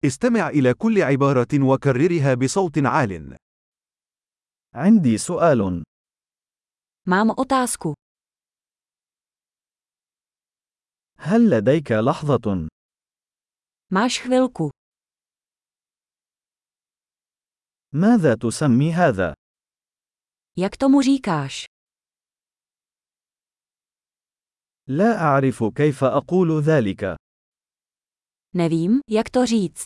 استمع إلى كل عبارة وكررها بصوت عال. عندي سؤال. Mám otázku. هل لديك لحظة؟ Máš chvilku. ماذا تسمي هذا؟ Jak tomu říkáš? لا أعرف كيف أقول ذلك. Nevím, jak to říct.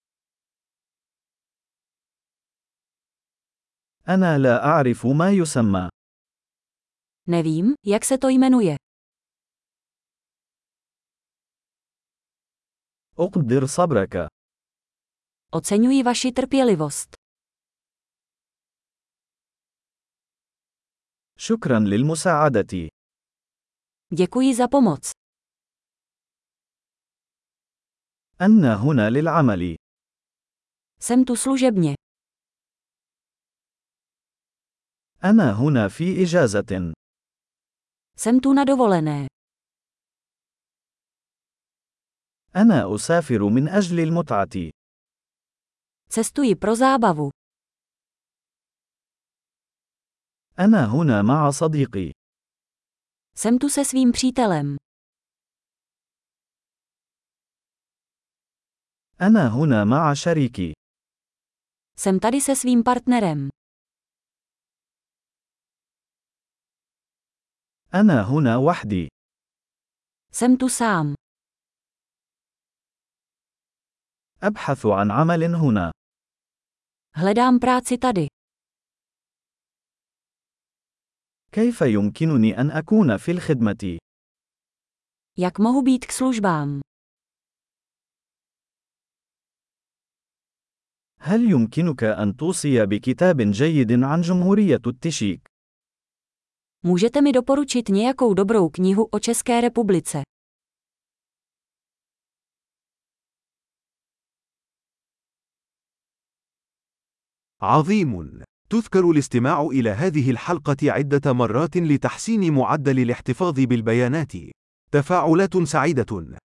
أنا لا أعرف ما يسمى. Nevím, jak se to jmenuje. أقدر صبرك. Oceňuji vaši trpělivost. شكرا للمساعدة. Děkuji za pomoc. أنا هنا للعمل. Jsem tu služebně. أنا هنا في إجازة. Jsem tu na dovolené. أنا أسافر من أجل المتعة. Cestuji pro zábavu. أنا هنا مع صديقي. Jsem tu se svým přítelem. أنا هنا مع شريكي. Jsem tady se svým partnerem. أنا هنا وحدي. Jsem tu sám. أبحث عن عمل هنا. Hledám práci tady. كيف يمكنني أن أكون في الخدمة؟ Jak mohu být k službám? هل يمكنك أن توصي بكتاب جيد عن جمهورية التشيك؟ Můžete mi doporučit nějakou dobrou knihu o České republice? عظيم. تذكر الاستماع إلى هذه الحلقة عدة مرات لتحسين معدل الاحتفاظ بالبيانات. تفاعلات سعيدة.